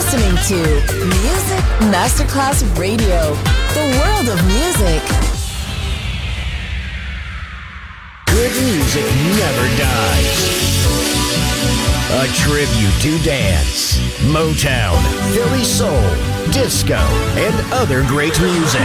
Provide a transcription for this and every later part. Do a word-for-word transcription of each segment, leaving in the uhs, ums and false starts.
listening to Music Masterclass Radio, the world of music. Good music never dies. A tribute to dance, Motown, Philly soul, disco, and other great music.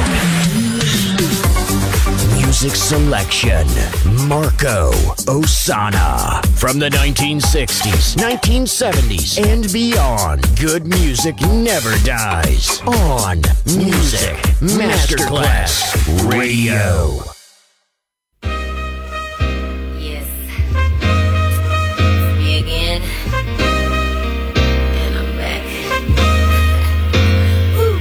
Music selection, Marco Ossanna. From the nineteen sixties, nineteen seventies, and beyond, good music never dies. On Music Masterclass Radio. Yes. Me again. And I'm back. Woo.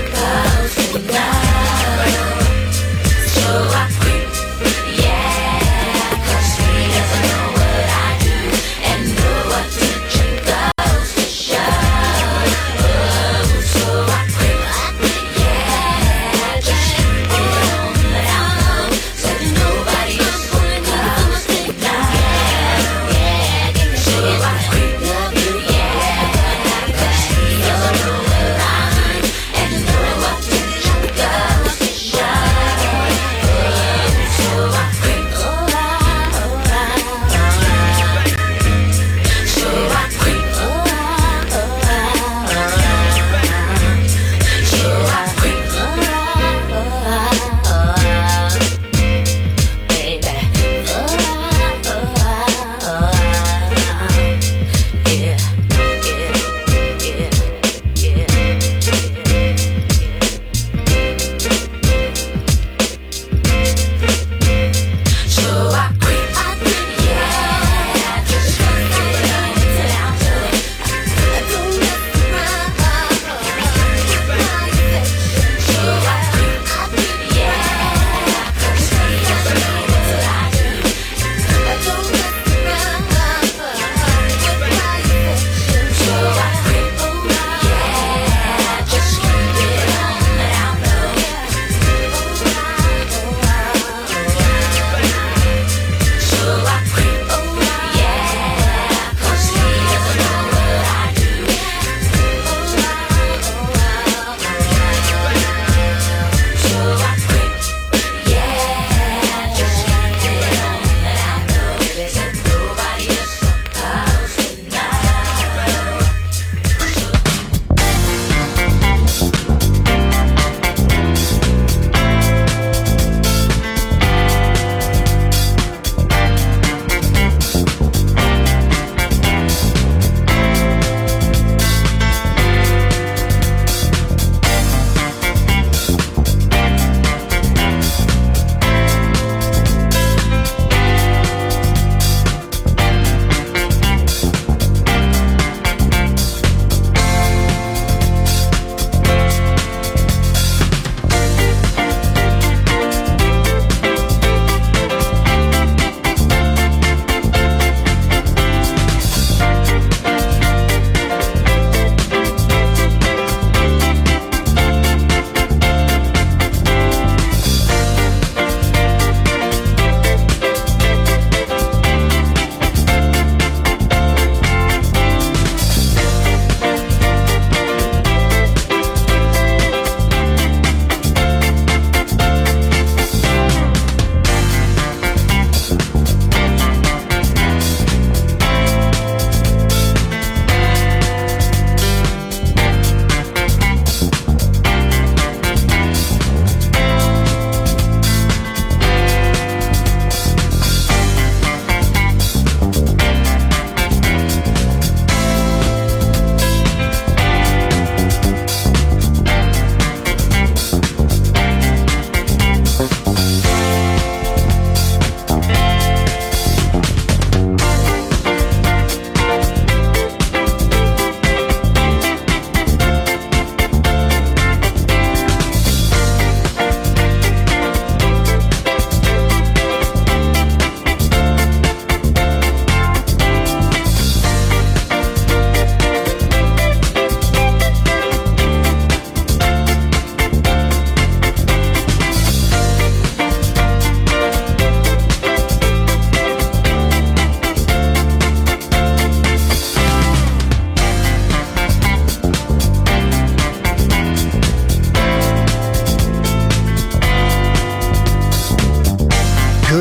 Yeah.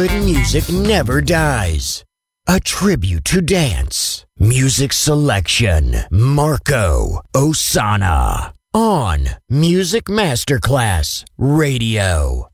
good music never dies. A tribute to dance. Music selection. Marco Ossanna. On Music Masterclass Radio.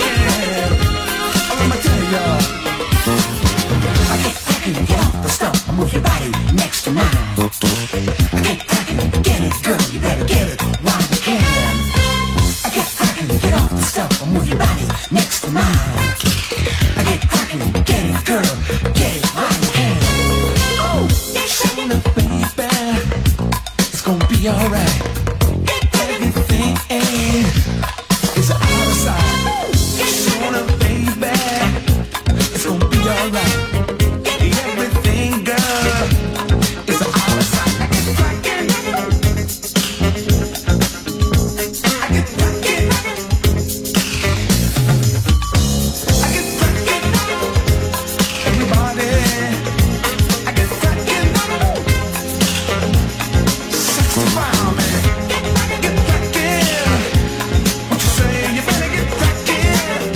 Get off the stuff. move your body next to mine. I get crackin', get it, girl, you better get it while you can. I get crackin', get off the stuff, move your body next to mine. I get crackin', get it, girl, get it while you can. Oh, shake it up, baby, it's gonna be alright. Everything is out of sight. Shake up, baby, it's gonna be alright. Everything, girl, is out of sight. I get crackin', I get crackin', I get crackin', everybody, I get crackin', sexy around me, get crackin', what you say, you better get crackin'.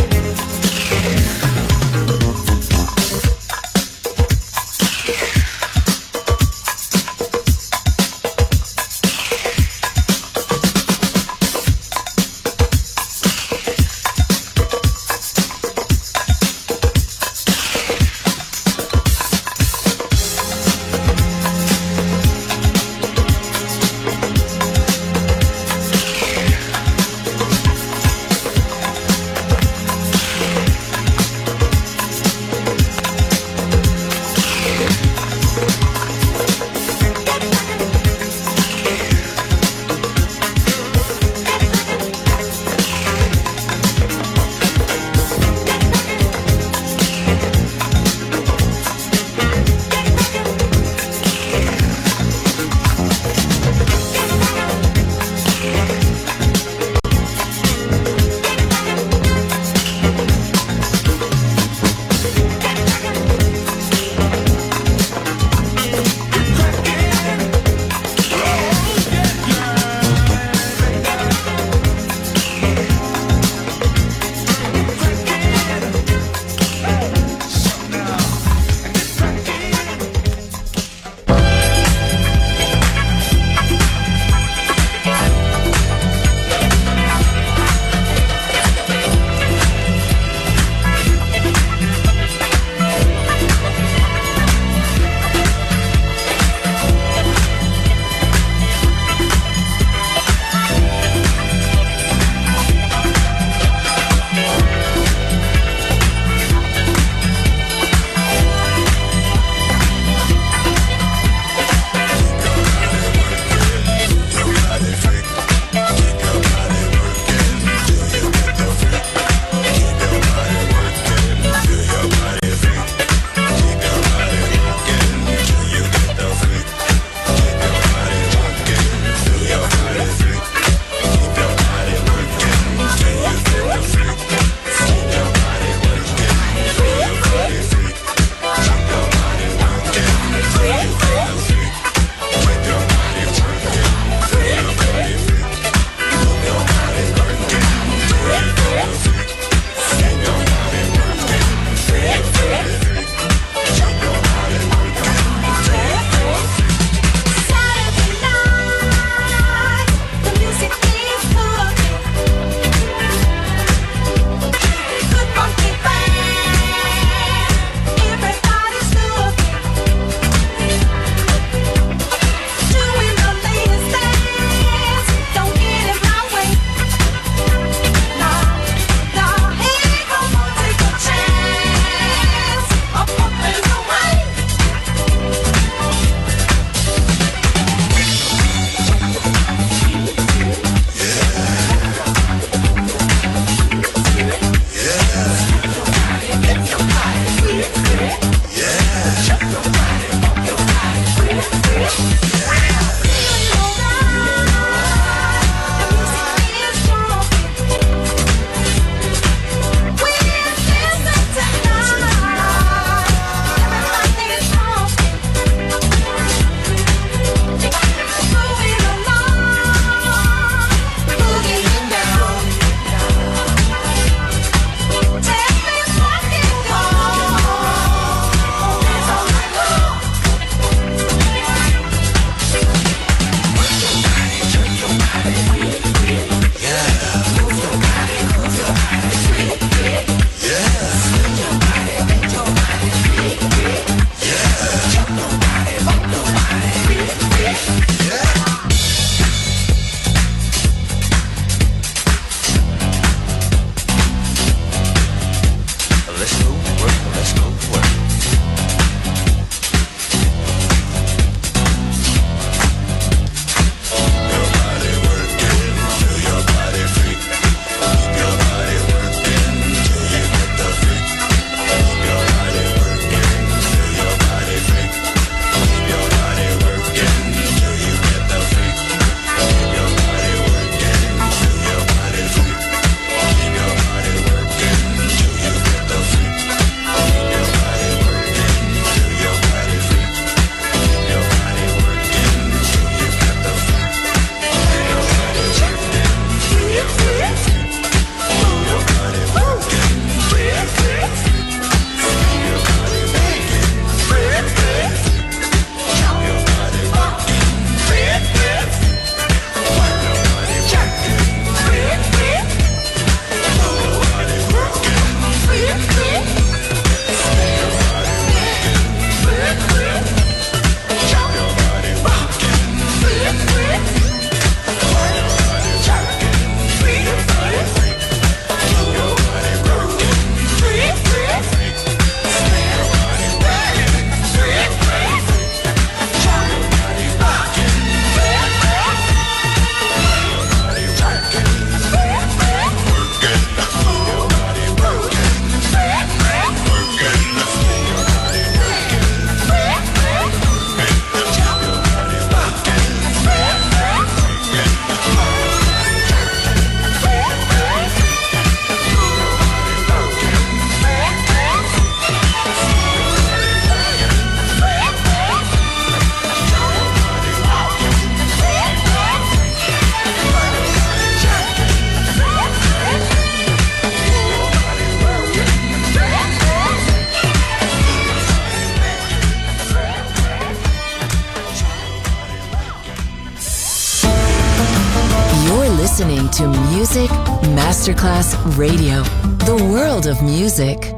listening to Music Masterclass Radio, the world of music.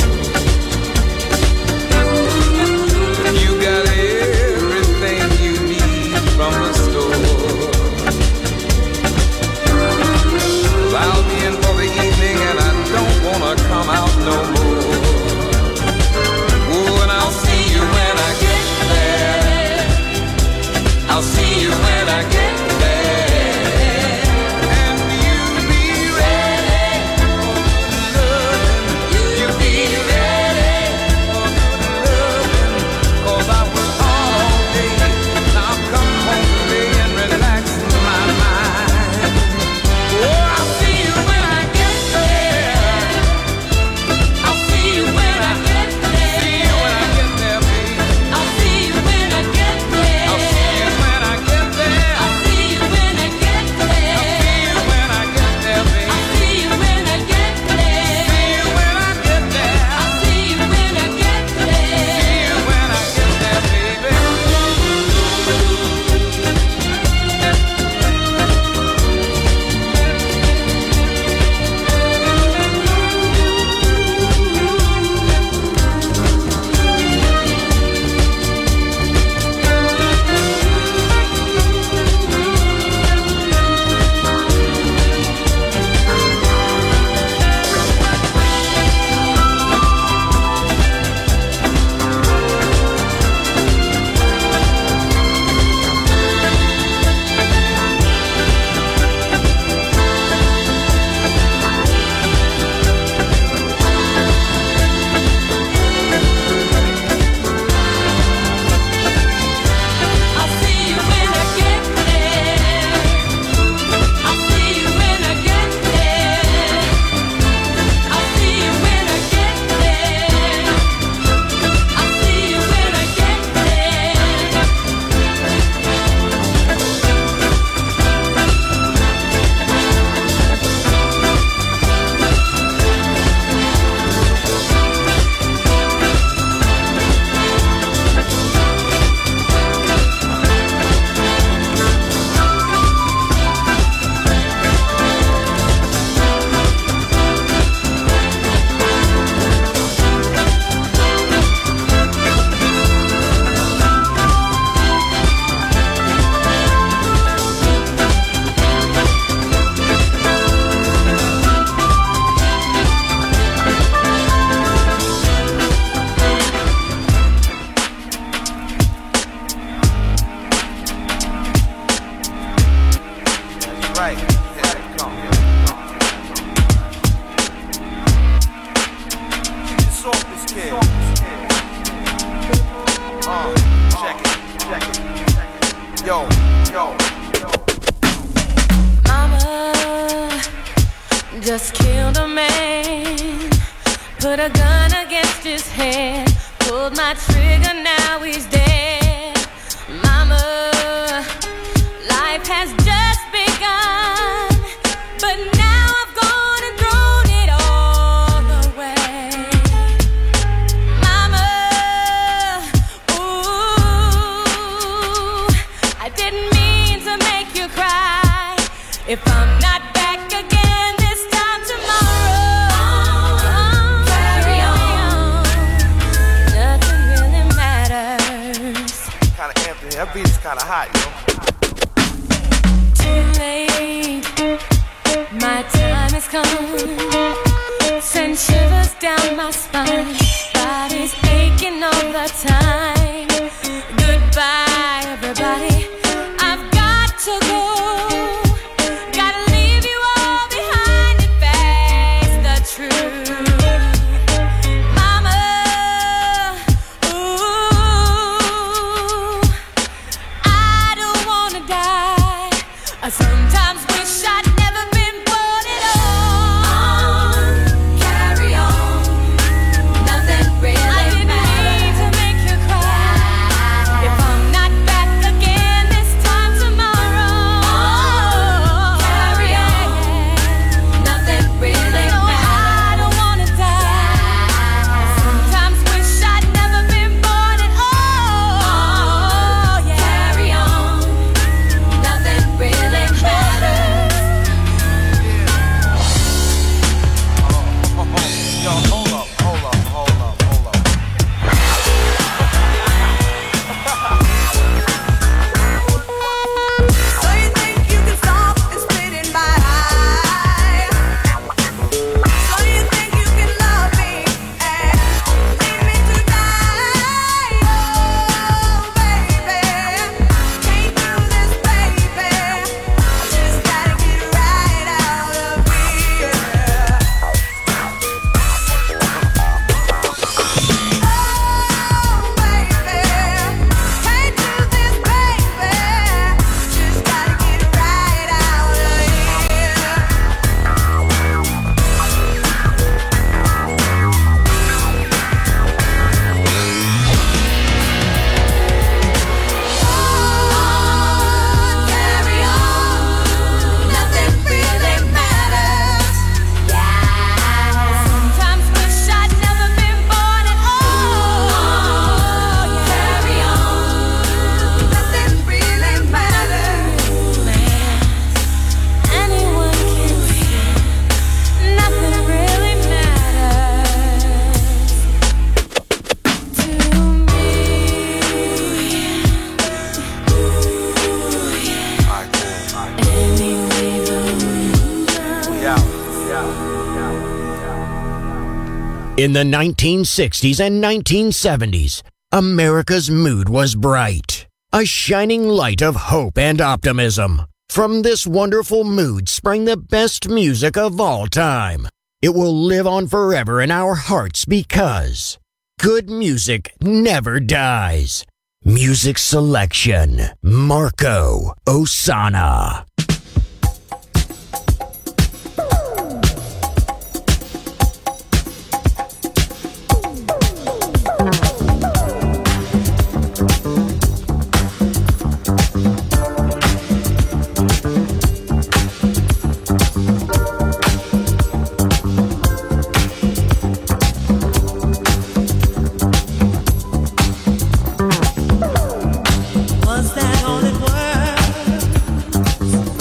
You got everything you need. right. Here it comes. It's off this kid. Uh, check it, check it, check it. Yo, yo, yo. Mama just killed a man, put a gun against his head, pulled my trigger, now he's dead. Mama, life has just begun, but now I've gone and thrown it all away. Mama, ooh, I didn't mean to make you cry. If I'm not back again this time tomorrow, oh, carry on. Nothing really matters. Kinda empty. That beat is kinda hot, yo. Too late, my time has come. Send shivers down my spine. Body's aching all the time. Goodbye, everybody. I've got to go. Gotta leave you all behind and face the truth. Mama, ooh, I don't wanna die. I sometimes wish I'd never been born at all. Carry on. Nothing really I didn't matters. Mean to make you cry. If I'm not back again this time tomorrow, carry on. Nothing really no, matters. I don't wanna die. I sometimes wish I'd never been born at all. Carry on. Nothing really matters. Oh, oh, oh. Yo, hold up, hold up, hold up, hold up. So you think you can stop and spit in my eye? So you think you can love me and leave me to die? Oh, baby, can't do this, baby. I just gotta get right out of here. Oh, baby, can't do this, baby. Just gotta get right out of here. Carry on, nothing really matters. Sometimes wish I'd never been born at all. Carry on. Nothing really matters. Anyone can see. Nothing really matters to me. Alright, cool. Alright, Anyway, though. we out. We out. We out. In the nineteen sixties and nineteen seventies, America's mood was bright, a shining light of hope and optimism. From this wonderful mood sprang the best music of all time. It will live on forever in our hearts because good music never dies. Music selection, Marco Ossanna. Was that all it was?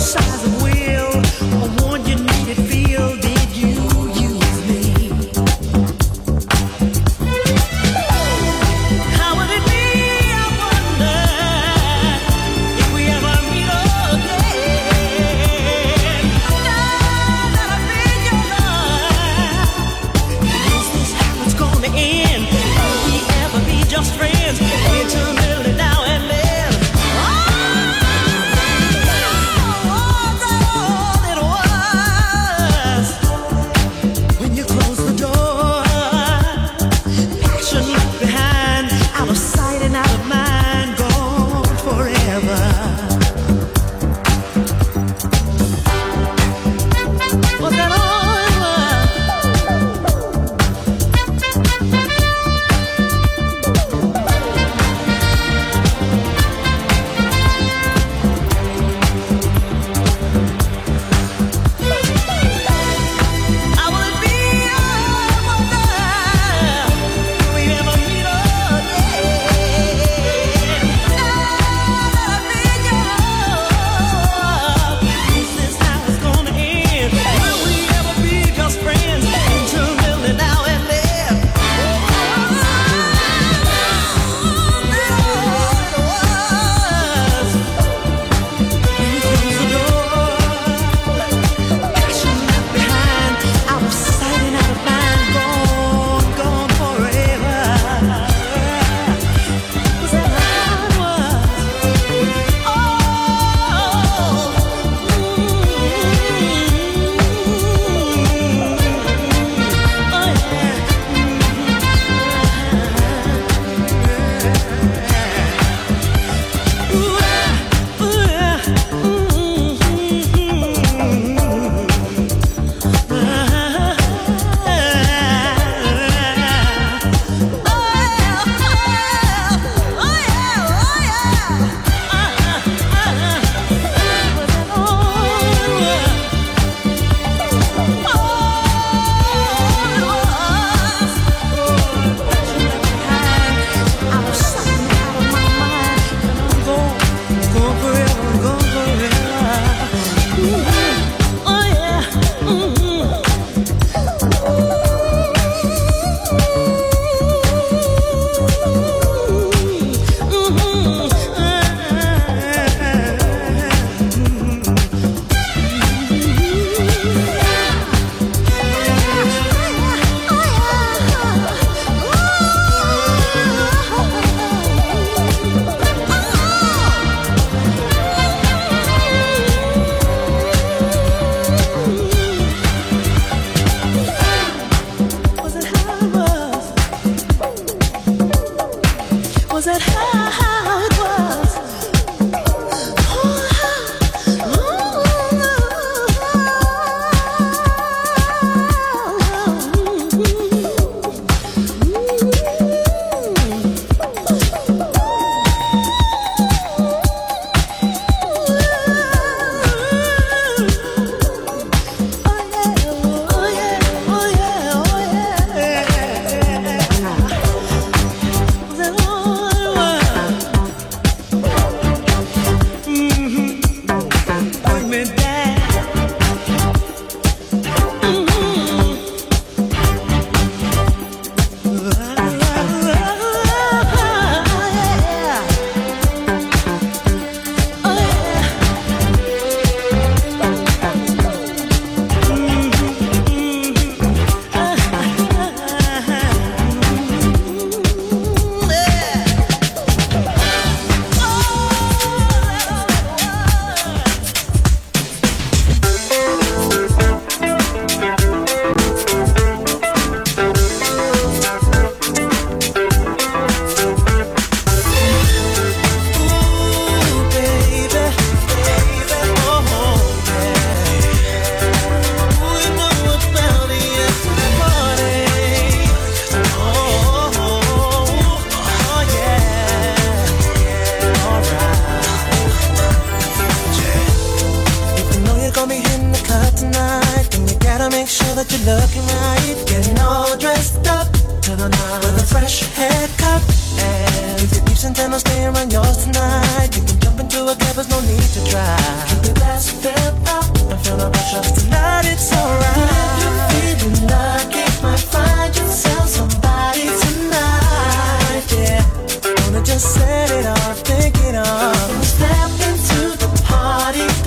Stay around yours tonight. You can jump into a cab, there's no need to try. Keep your glass filled.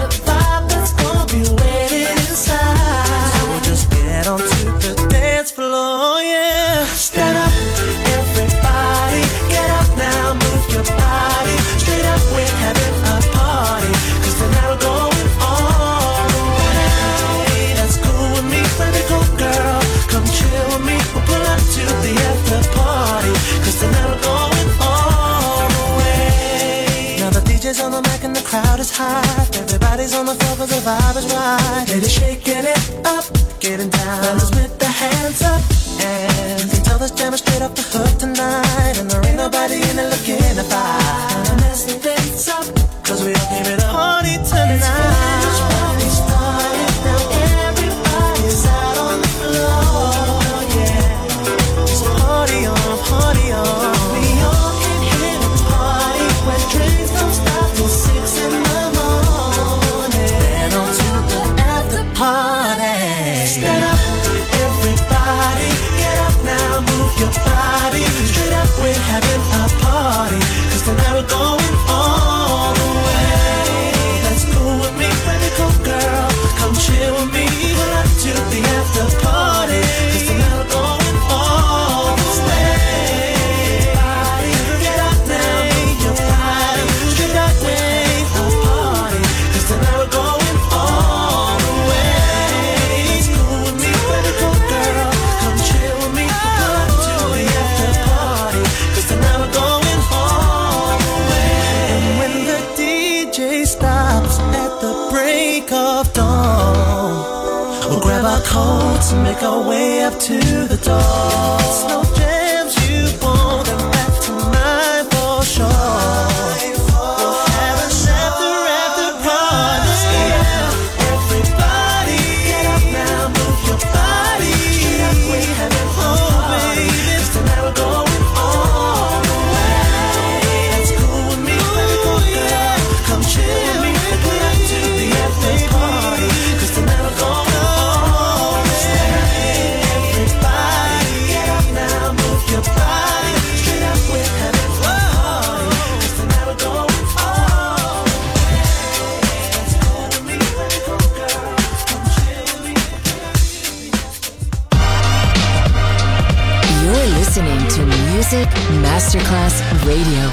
the vibe that's gonna be waiting inside. So we'll just get onto the dance floor, yeah. Stand up, everybody, get up now, move your body. Straight up, we're having a party, 'cause tonight we're going all the way. That's cool with me, baby, go girl, come chill with me. We'll pull up to the after party, 'cause tonight we're going all the way. Now the D J's on the mic and the crowd is hot. Everybody's on the floor 'cause the vibe is right. Ladies shaking it up, getting down. Fellas with their hands up, and they tell us jamming straight off the hook tonight. And there ain't nobody in it looking to fight. And mess the things up, 'cause we all came to the party tonight. It's party started, now everybody's out on the floor, yeah. It's party on, party on. We all can hit a party where drinks don't stop till six in the morning. Then on to the after party. Stand up, everybody, get up now, move your body. Straight up, we're having a party, 'cause tonight we're going all the way. That's cool with me, baby, go girl, come chill with me. We're up to the after party, 'cause tonight we're going all the way. Get up now, move your body. Straight up, we're a party, 'cause tonight we're going all the way. It's cool with me, baby, go girl, come chill with me. We're up to the after party, 'cause tonight we're going all the way. And when the D J stops at the break of dawn, we'll grab our coats and make our way up to the door. Slow jams you want them back to mine for sure. We'll have an after after party. Everybody, get up now, move your body. Straight up, we having a party, 'cause tonight we're going all the way. That's cool with me, baby, go girl, come chill with me. We're up to the after party, 'cause tonight we're going all the way. Everybody, get up now, move your body. Straight up, we're having a party, 'cause tonight we're going all the way. That's cool with me, baby, go girl, come chill with me. You're listening to Music Masterclass Radio.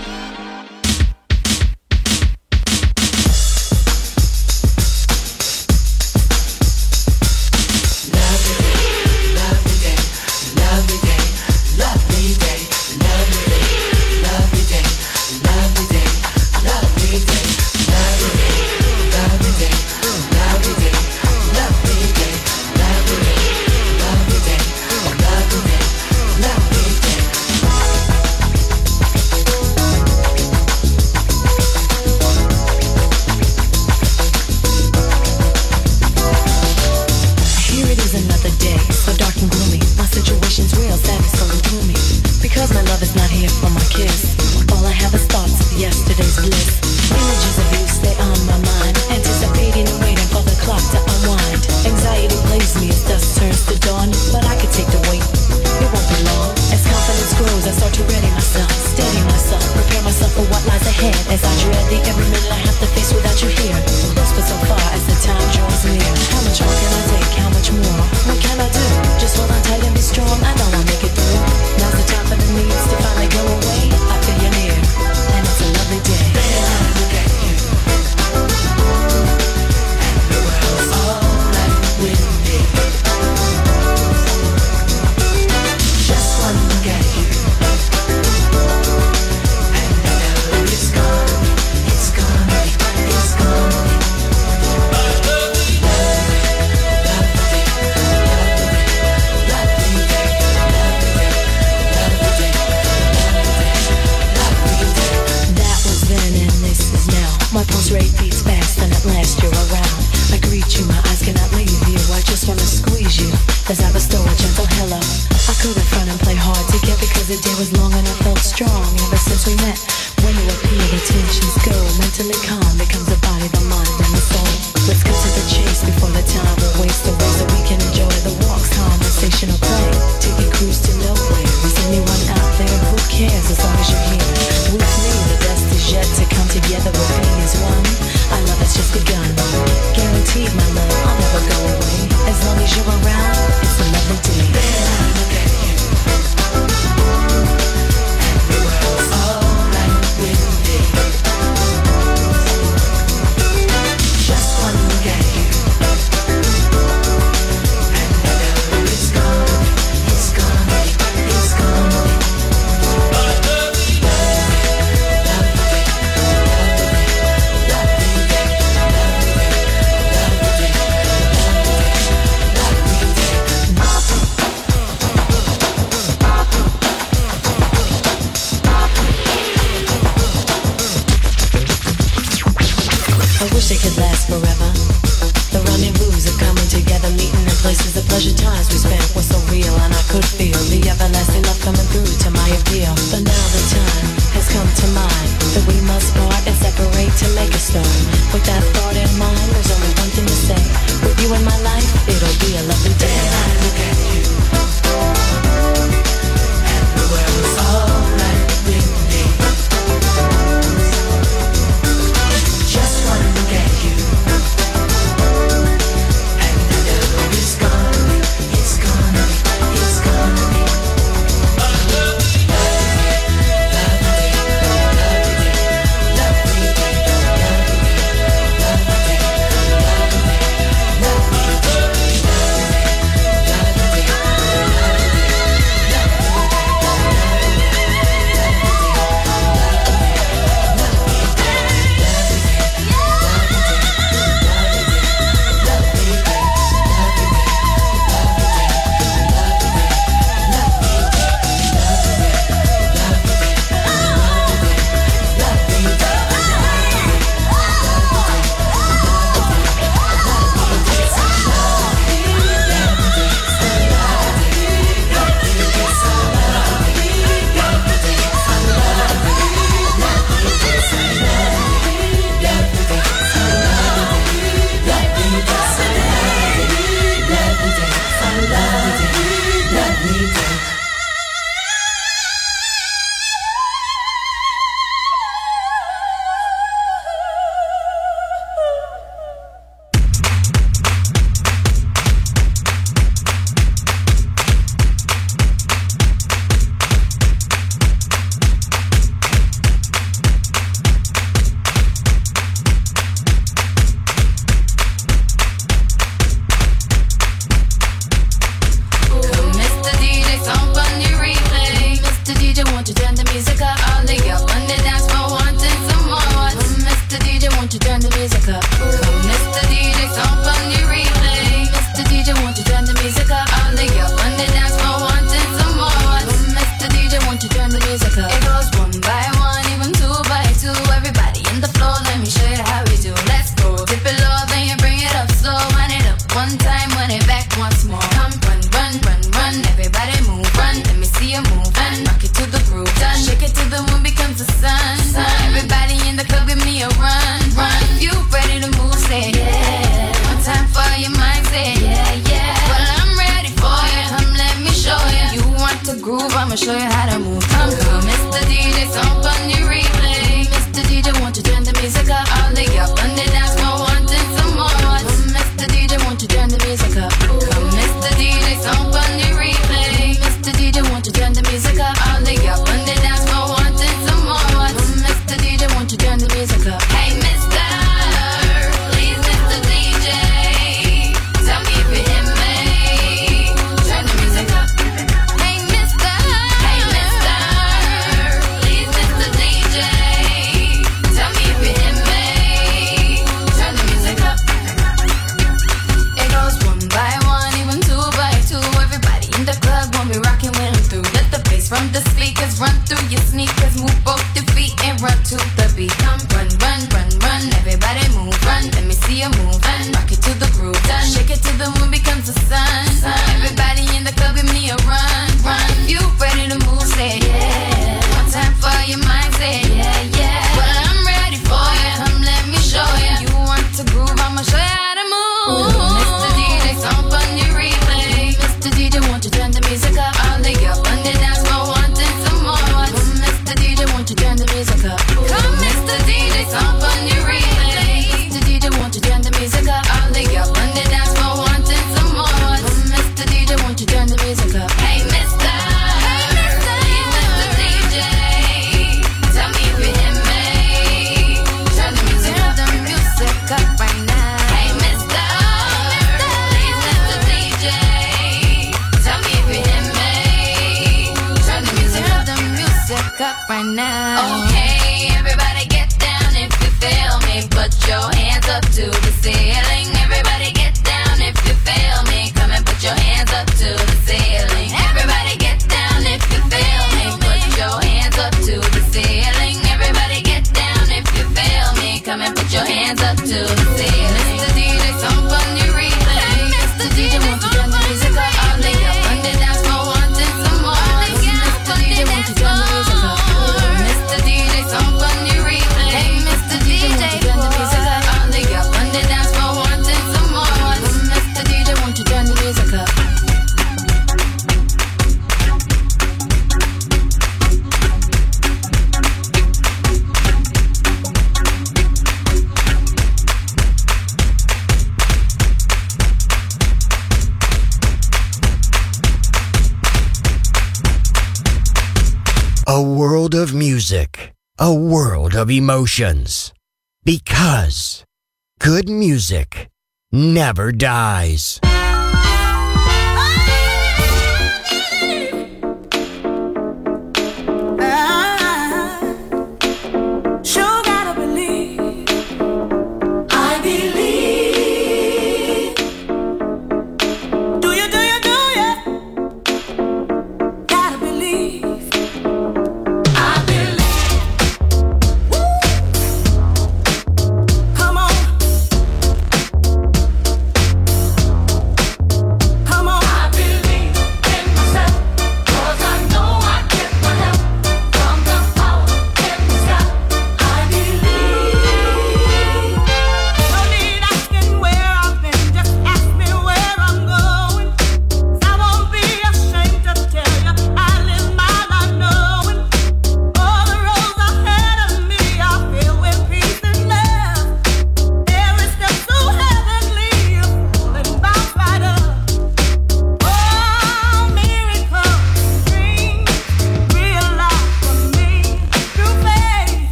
Here it is another day, so dark and gloomy. My situation's real, sad and so gloomy. Because my love is not here for my kiss. All I have is thoughts of yesterday's bliss. Images of you stay on my mind, anticipating and waiting for the clock to unwind. Anxiety plays me as dusk turns to dawn, but I could take the wait. It won't be long. As confidence grows, I start to ready myself, steady myself, prepare myself for what lies ahead. As I dread the every minute I have to face without you here. Close but so far as the time draws near. How much more can I take? How much more? What can I do? Just hold on tight and be strong. I know I'll make it through. Now's the time for the needs to finally go away. I feel you near, and it's a lovely day. Look at you, and the world's all right with me. Just one look at you, and I know it's gonna be, it's gonna be, it's gonna be. That was then and this is now. My pulse rate beats fast and at last you're around. I greet you, my eyes cannot leave you. I just wanna squeeze you as I bestow a gentle hello. I couldn't front and play hard to get because the day was long and I felt strong ever since we met. When you appear, the tensions go. Mentally calm becomes the body, the mind, and the soul. Let's cut to the chase before the time will waste away so we can enjoy the walks, conversation or play. Take a cruise to nowhere. Is anyone out there? Who cares as long as you're here? With me, the best is yet to come together. We're being as one. Our love has just begun. you in my life, it'll be a lovely day. Then I look at you, and the world is alright with me. Just wanna look at you, and I know it's gonna be, it's gonna be, it's gonna be. Mister D J, won't you turn the music up? A world of music, a world of emotions. Because good music never dies. Sure gotta believe. I believe. Do you, do you, do you? Gotta believe. I believe. Woo. Come on.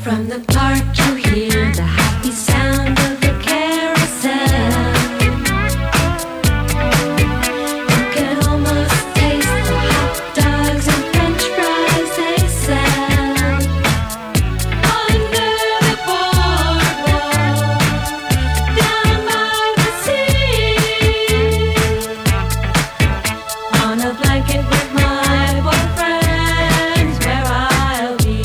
From the park you hear the happy sound of the carousel. You can almost taste the hot dogs and french fries they sell. Under the boardwalk, down by the sea. On a blanket with my boyfriend's where I'll be.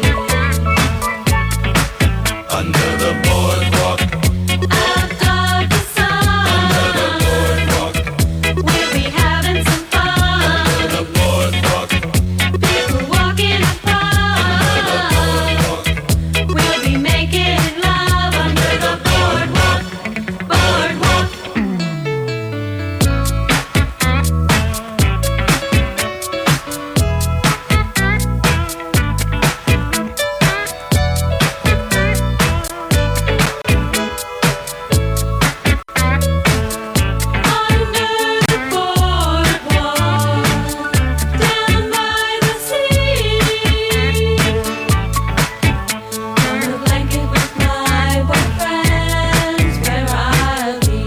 Under the boardwalk, Out of the sun, under the boardwalk, we'll be having some fun. the boardwalk, People walking apart. We'll be making love under the boardwalk, boardwalk. Under the boardwalk, down by the sea. On a blanket with my boyfriend's where I'll be.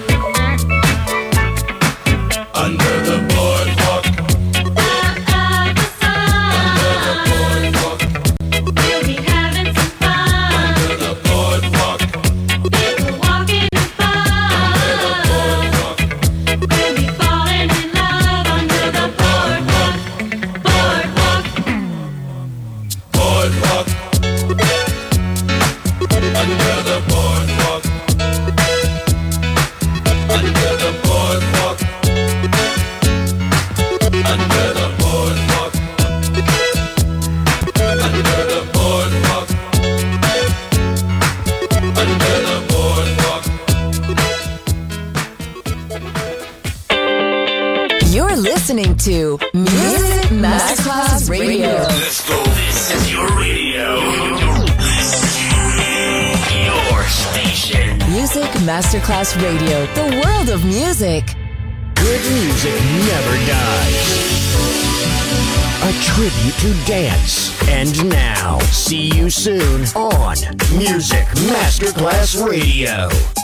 under the boardwalk, Out of the sun, boardwalk, we'll be having some fun. the boardwalk, People walking apart. We'll be falling in love under the boardwalk, boardwalk. boardwalk, under the boardwalk, under the boardwalk, under the boardwalk, under the boardwalk, under the boardwalk. You're listening to Music Masterclass Radio. Let's go. This is your radio. Your station. Music Masterclass Radio, the world of music. Good music never dies. A tribute to dance. And now, see you soon on Music Masterclass Radio.